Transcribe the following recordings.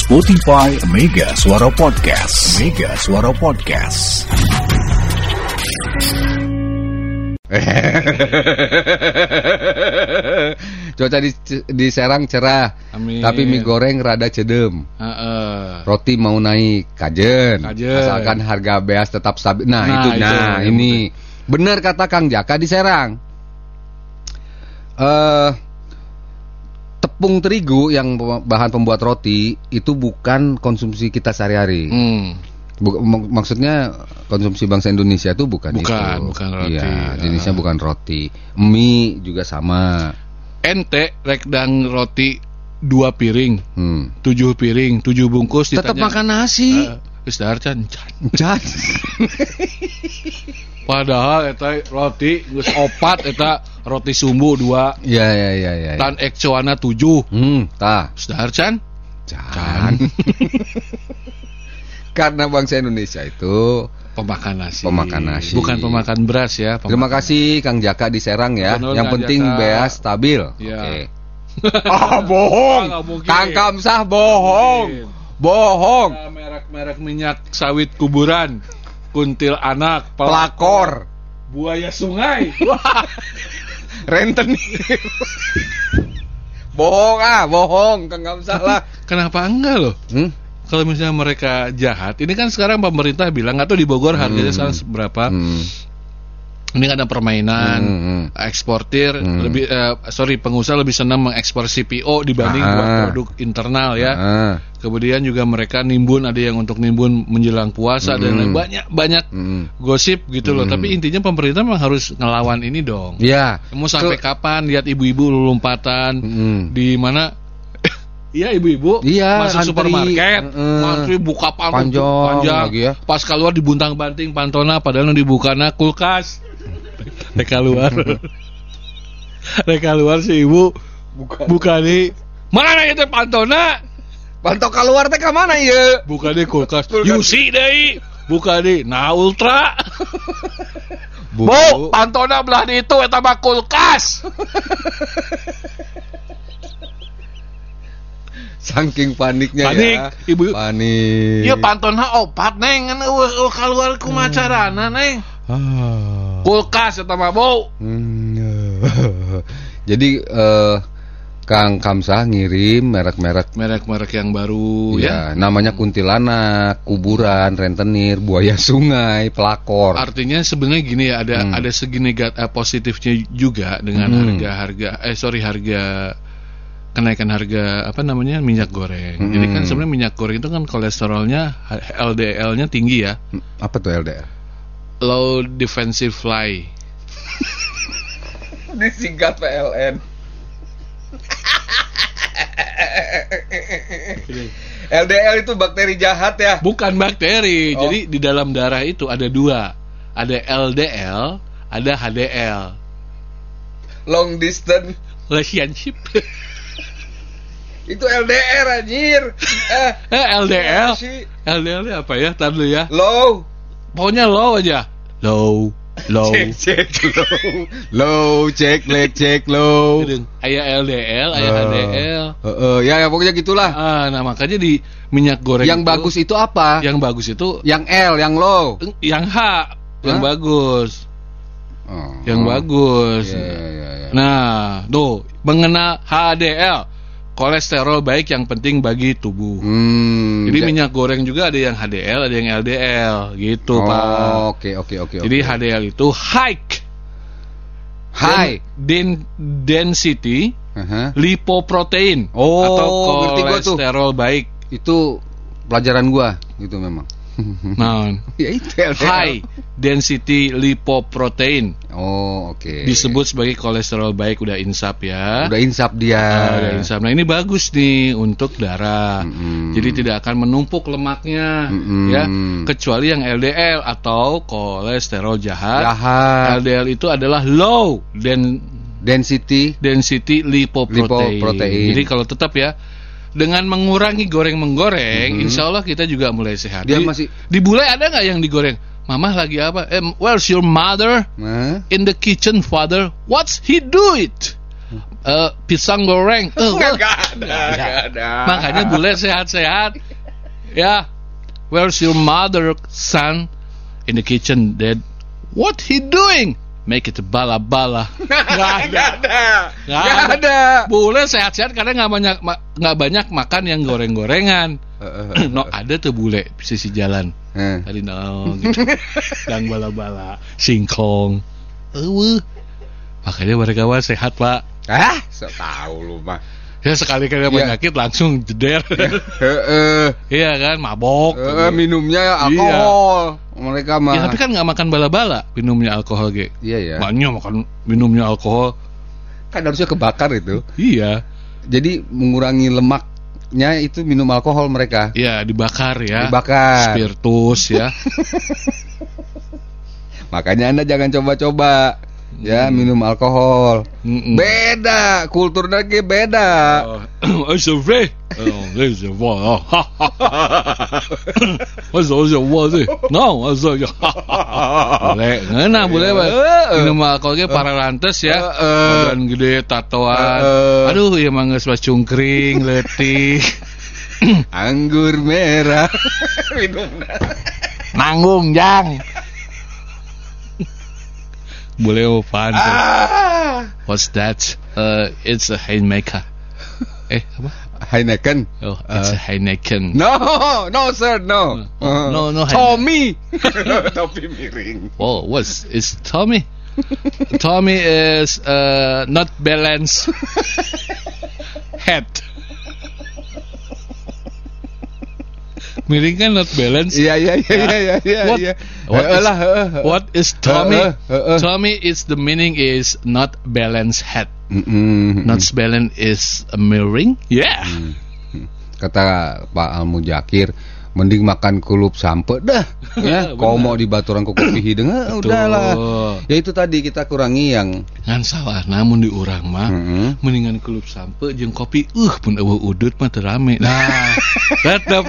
Spotify Mega Suara Podcast. Mega Suara Podcast. Cuaca di Serang cerah. Amin. Tapi mie goreng rada cedem. Roti mau naik kajen. Asalkan harga beas tetap stabil. Ini benar kata Kang Jaka di Serang. Tepung terigu yang bahan pembuat roti itu bukan konsumsi kita sehari-hari. Maksudnya konsumsi bangsa Indonesia itu bukan itu. Bukan roti. Iya, jenisnya bukan roti. Mie juga sama. Ente rekdang roti 2 piring, 7 piring, 7 bungkus tetap ditanya, makan nasi. Geus dahar can. Padahal eta roti geus 4 eta roti sumbu 2. Iya. Tan ekcoana 7. Tah. Geus dahar can. Karena bangsa Indonesia itu pemakan nasi. Bukan pemakan beras ya. Terima kasih Kang Jaka di Serang ya. Yang penting beas stabil. Ya. Oke. Bohong. Kang Kamsah bohong. Merek-merek minyak sawit kuburan, kuntil anak, pelakor, buaya sungai, rentenir. Bohong Kang Kamsah lah. Kenapa enggak loh? Kalau misalnya mereka jahat, ini kan sekarang pemerintah bilang atau di Bogor harganya sekarang berapa? Ini ada permainan eksportir pengusaha lebih senang mengekspor CPO dibanding buat produk internal ya. Kemudian juga mereka nimbun, ada yang untuk nimbun menjelang puasa dan banyak gosip gitu loh. Tapi intinya pemerintah memang harus ngelawan ini dong. Iya. Mau sampai kapan lihat ibu-ibu lompatan di mana? Iya ibu-ibu masuk antri, supermarket, antri buka panjang lagi ya. Pas keluar dibuntang-banting pantona, padahal yang dibukana kulkas. Reka luar si ibu buka di mana itu pantona? Panto keluar teh ka mana ieu? Buka di kulkas. Yusi deui. Buka di Ultra. Bu, pantona belah di itu eta mah kulkas. Saking paniknya ya. Ibu. Panik. Iya pantona opat neng kan keluar ku macarana neng. Kulkas eta mah bau. Jadi Kang Kamsah ngirim merek-merek yang baru ya. Namanya kuntilanak, kuburan, rentenir, buaya sungai, pelakor. Artinya sebenarnya gini ya, ada segi positifnya juga dengan harga kenaikan harga minyak goreng. Jadi kan sebenarnya minyak goreng itu kan kolesterolnya LDL-nya tinggi ya. Apa tuh LDL? Low defensive fly. Disingkat PLN. LDL itu bakteri jahat ya? Bukan bakteri. Jadi di dalam darah itu ada 2. Ada LDL, ada HDL. Long distance relationship. Itu LDR anjir. LDL. LDL apa ya? Tar dulu ya. Low. Pokoknya low aja. Low. Cek low. Cek low. Aya LDL, aya HDL. Ya pokoknya gitulah. Nah makanya di minyak goreng yang bagus itu apa? Yang bagus itu yang L, yang low. Yang H, yang bagus. Yang bagus. Ya. Nah, tuh mengenal HDL. Kolesterol baik yang penting bagi tubuh. Jadi minyak goreng juga ada yang HDL, ada yang LDL gitu, Pak. Oke. Jadi HDL itu high density lipoprotein atau kolesterol baik. Itu pelajaran gua gitu memang. Nah, ya itu LDL. High density lipoprotein. Oke. Disebut sebagai kolesterol baik, udah insap ya. Udah insap dia. Udah insap. Nah, ini bagus nih untuk darah. Jadi tidak akan menumpuk lemaknya ya, kecuali yang LDL atau kolesterol jahat. LDL itu adalah low density lipoprotein. Jadi kalau tetap ya dengan mengurangi goreng-menggoreng, insya Allah kita juga mulai sehat. Di bule ada nggak yang digoreng? Mama lagi apa? Where's your mother? In the kitchen, father. What's he do it? pisang goreng. Nggak ada. Makanya bule sehat-sehat. Ya. Where's your mother, son? In the kitchen, Dad. What he doing? Make it bala-bala. Nggak ada. Bule sehat-sehat karena nggak banyak makan yang goreng-gorengan. No, ada tuh bule sisi jalan. Tadi gitu. Dan bala-bala, singkong. Makanya mereka mah sehat, Pak. So tahu lu mah. Ya sekali kena penyakit langsung jeder. Iya kan, mabok. Minumnya alkohol. Mereka mah. Ya tapi kan nggak makan bala-bala, minumnya alkohol ge. Iya ya. Banyak makan minumnya alkohol. Kan harusnya kebakar itu. Iya. Jadi mengurangi lemaknya itu minum alkohol mereka. Iya, dibakar ya. Dibakar. Spiritus ya. Makanya Anda jangan coba-coba. Ya, minum alkohol. Beda, kulturnya ge beda. Survey. This is what. Boleh minum alkohol ge pararantes ya. Badan gede, tatoan. Aduh, ieu mah geus cungkring, leutik. Anggur merah. Minumna. Nanggung, Jang. Boleh opan. What's that? It's a Heineken. Apa? Heineken. Oh, it's a Heineken. No, sir, no. No. Tommy. Topi miring. Oh, it's Tommy? Tommy is not balanced head. Miring kan not balance. Iya. What is Tommy? Tommy is the meaning is not balanced head. Not balanced is a miring. Yeah. Kata Pak Al-Mujakir, mending makan kulup sampe dah. Ya, kau mau di baturan kuku hideung, udahlah. Ya itu tadi kita kurangi yang ngan salah, namun di urang mah mendingan kulup sampe jeung kopi pun eueuh udut mah teu rame. Nah, tetep.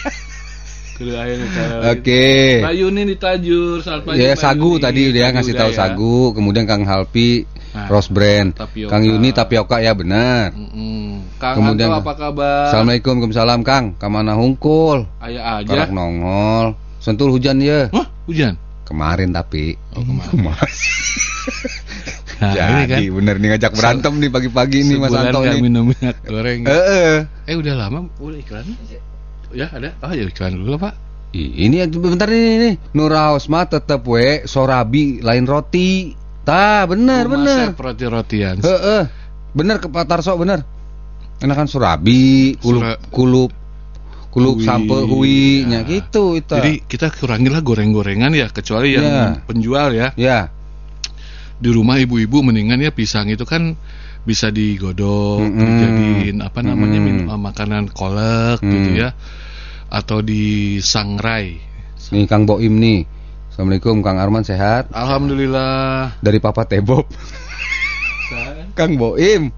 Oke. Mbak Yuni di Tajur, selamat pagi. Ya, Sagu tadi dia ngasih tahu Sagu, kemudian Kang Halpi Rose Brand, Kang Yuni tapioka ya benar. Kang kemudian Anto apa kabar? Assalamualaikum, Waalaikumsalam Kang. Kamana hungkul? Aya aja. Karak nongol. Sentul hujan ya? Hah? Hujan? Kemarin tapi. Kemarin. Nah, jadi kan? Bener nih ngajak berantem nih pagi-pagi nih Mas Anto nih. Minum minyak goreng. Udah lama, udah iklan. Ya ada, ya iklan dulu Pak. Ini bentar nih. Nuraos mah tetep we sorabi lain roti. Tah bener. Roti-rotian. Bener ke Pak Tarso bener. Enakan sorabi, kulup sampe hui nya gitu itu. Jadi kita kurangilah goreng-gorengan ya, kecuali yang penjual ya. Ya. Di rumah ibu-ibu mendingan ya pisang itu kan bisa digodok, dijadiin makanan kolak gitu ya. Atau di sangrai. Nih Kang Boim nih. Assalamualaikum Kang Arman, sehat? Alhamdulillah. Dari Papa Tebob. Kang Boim.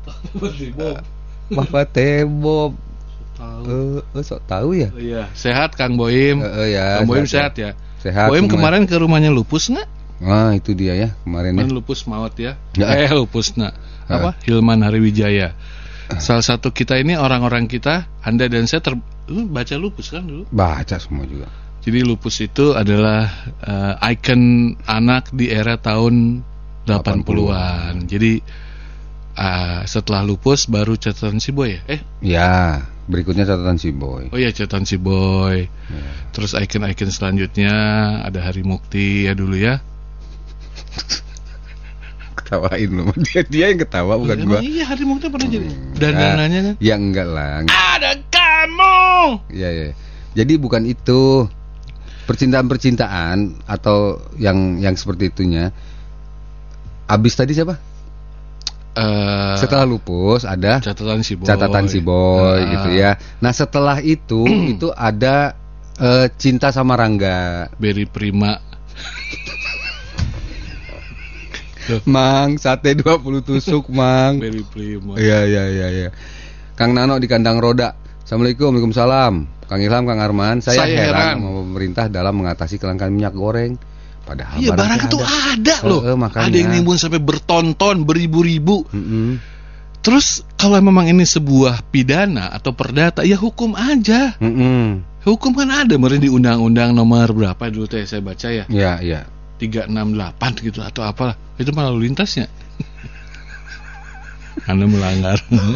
Papa Tebob. Sok tahu ya? Iya, sehat Kang Boim. Ya, Kang Boim sehat ya. Sehat. Boim kemarin ke rumahnya lupus nggak? Nah itu dia ya kemarin ya. Lupus maut ya. Lupus apa? Hilman Hariwijaya. Salah satu kita ini orang-orang kita, Anda dan saya lu baca lupus kan dulu? Baca semua juga. Jadi lupus itu adalah ikon anak di era tahun 80-an. Jadi setelah lupus baru catatan si Boy ya? Ya, berikutnya catatan si Boy. Oh iya, catatan si Boy. Ya. Terus ikon-ikon selanjutnya ada Hari Mukti ya dulu ya. Ketawain lu. Dia yang ketawa bukan gua. Iya, Hari Mukti pernah jadi dandanannya kan? Ya enggak lah. Ada kamu. Iya. Jadi bukan itu. Percintaan atau yang seperti itunya. Abis tadi siapa? Setelah lupus ada catatan si Boy gitu ya. Nah setelah itu itu ada Cinta sama Rangga, Berry Prima. Mang sate 20 tusuk Mang. Berry Prima. Iya. Kang Nano di Kandang Roda. Assalamualaikum, Waalaikumsalam. Kang Ilham, Kang Arman, saya heran sama pemerintah dalam mengatasi kelangkaan minyak goreng. Padahal iya, barang itu ada loh. Ada yang nimbun sampai bertonton, beribu-ribu. Terus kalau memang ini sebuah pidana atau perdata, ya hukum aja. Hukum kan ada, meren di undang-undang nomor berapa dulu teh saya baca ya? Iya. 368 gitu atau apalah. Itu malah lalu lintasnya. Anda melanggar.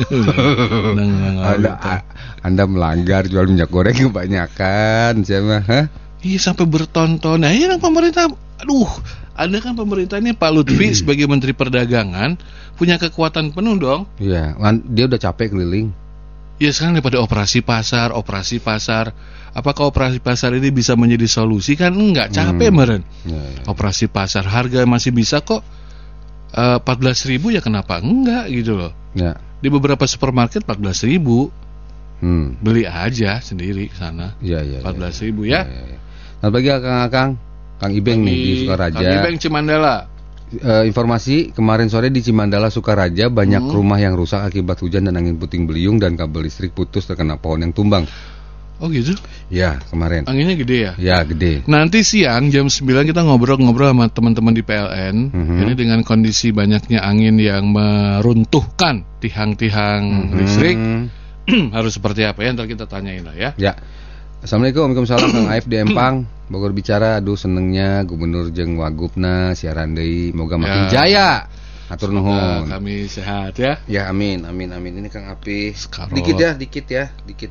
Anda melanggar jual minyak goreng kebanyakan, siapa? Iya, sampai bertonton. Nah, ini kan pemerintah, Anda kan pemerintah ini Pak Lutfi sebagai Menteri Perdagangan punya kekuatan penuh dong. Iya, dia udah capek keliling. Ya sekarang daripada operasi pasar. Apakah operasi pasar ini bisa menjadi solusi? Kan enggak, capek meren. Ya. Operasi pasar, harga masih bisa kok 14.000 ya kenapa enggak gitu loh. Ya. Di beberapa supermarket 14.000. Beli aja sendiri ke sana. Iya. 14.000 ya. Selamat pagi Kang Ibeng nih di Sukaraja. Kang Ibeng Cimandala. Informasi kemarin sore di Cimandala Sukaraja banyak rumah yang rusak akibat hujan dan angin puting beliung dan kabel listrik putus terkena pohon yang tumbang. Oh gitu? Ya, kemarin. Anginnya gede ya? Ya, gede. Nanti siang jam 9 kita ngobrol-ngobrol sama teman-teman di PLN. Ini dengan kondisi banyaknya angin yang meruntuhkan tiang-tiang listrik. Harus seperti apa ya? Ntar kita tanyain lah ya. Ya. Assalamualaikum, waalaikumsalam. Kang Aif di Empang, Bogor bicara. Aduh senengnya Gubernur jeung Wagubna siaran deui, moga makin jaya. Atur nuhun. Kami sehat ya. Ya amin. Ini Kang Api. Dikit ya.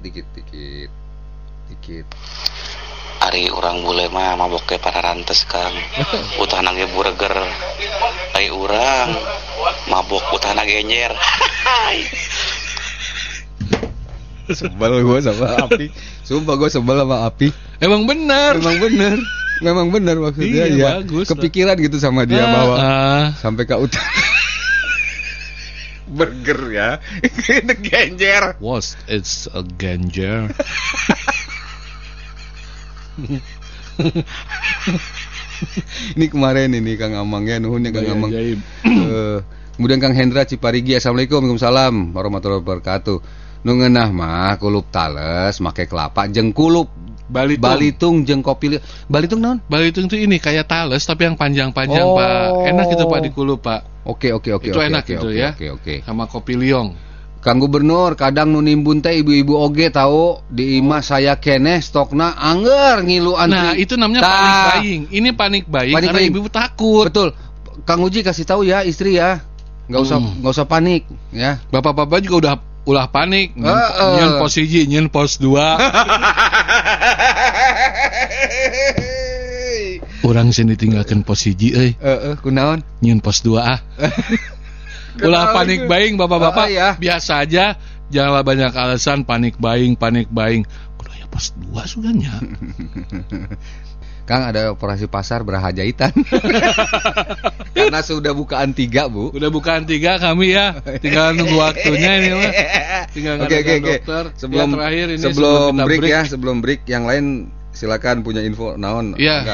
Ari urang bule mah mabok para rantes Kang. Utahna ge burger. Ai urang mabok utahna genyer. Sebel gue sama Api. Sumpah gue sebel sama Api. Memang benar maksudnya. Iya, ya bagus, kepikiran gitu sama dia bahwa sampai ke utara burger ya. Itu genjer. It's a genjer. Ini kemarin ini Kang Amangnya nuhun ya Kang Amang. Kemudian Kang Hendra Ciparigi. Assalamualaikum, waalaikumsalam warahmatullahi wabarakatuh. Nu ngeunah mah kulup tales make kelapa jeung kulup balitung jeung kopi. Balitung naon? Balitung itu ini kayak tales tapi yang panjang-panjang, Pak. Enak itu Pak di kulup, Pak. Oke. Itu enak gitu ya. Oke. Sama kopi liong. Kang Gubernur, kadang nu nimbun teh ibu-ibu oge tahu di imah saya keneh stokna angger ngilu antri. Nah, itu namanya panic buying. Ini panic buying karena ibu takut. Betul. Kang Uji kasih tahu ya istri ya. Enggak usah panik ya. Bapak-bapak juga ulah panik. Nyen pos 1, nyen pos 2. Orang sini tinggalkan pos 1 euy. Kunaon? Nyen pos 2 ah. Ulah panik buying bapak-bapak ya. Biasa aja. Janganlah banyak alasan panik buying. Kudu aya pos 2 suganya. Kang ada operasi pasar beraha jahitan. Karena sudah bukaan 3, Bu. Udah bukaan 3 kami ya. Tinggal nunggu waktunya ini mah. Tinggal ngadakan dokter. Sebelum break yang lain silakan punya info naon. Iya.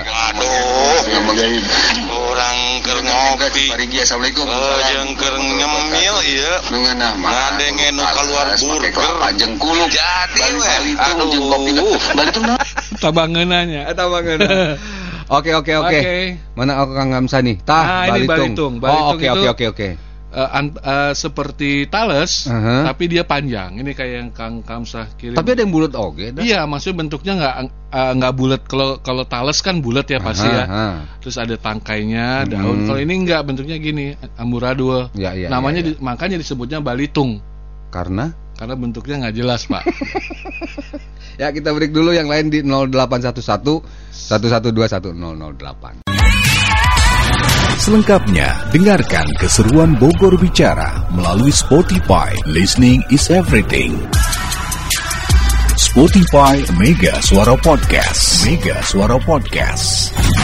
Orang keur ngopi. Assalamualaikum. Jeung keur nyemil ieu. Ngadenge nu keluar burger jeung kulup. Jadi we. Jeung kopi. Balitung naon? Tabangeunanya. Oke. Mana aku Kang Hamsa nih? Balitung. Oke. Seperti tales, tapi dia panjang. Ini kayak yang Kang Kamsah kirim. Tapi ada yang bulat oke. Iya, maksudnya bentuknya nggak bulat. Kalau tales kan bulat ya pasti ya. Terus ada tangkainya, daun. Kalau ini nggak, bentuknya gini, amburadul. Ya, namanya makanya disebutnya balitung. Karena bentuknya nggak jelas, Pak. Ya, kita break dulu, yang lain di 0811 1121 1008. Selengkapnya, dengarkan keseruan Bogor Bicara melalui Spotify. Listening is everything. Spotify Mega Suara Podcast.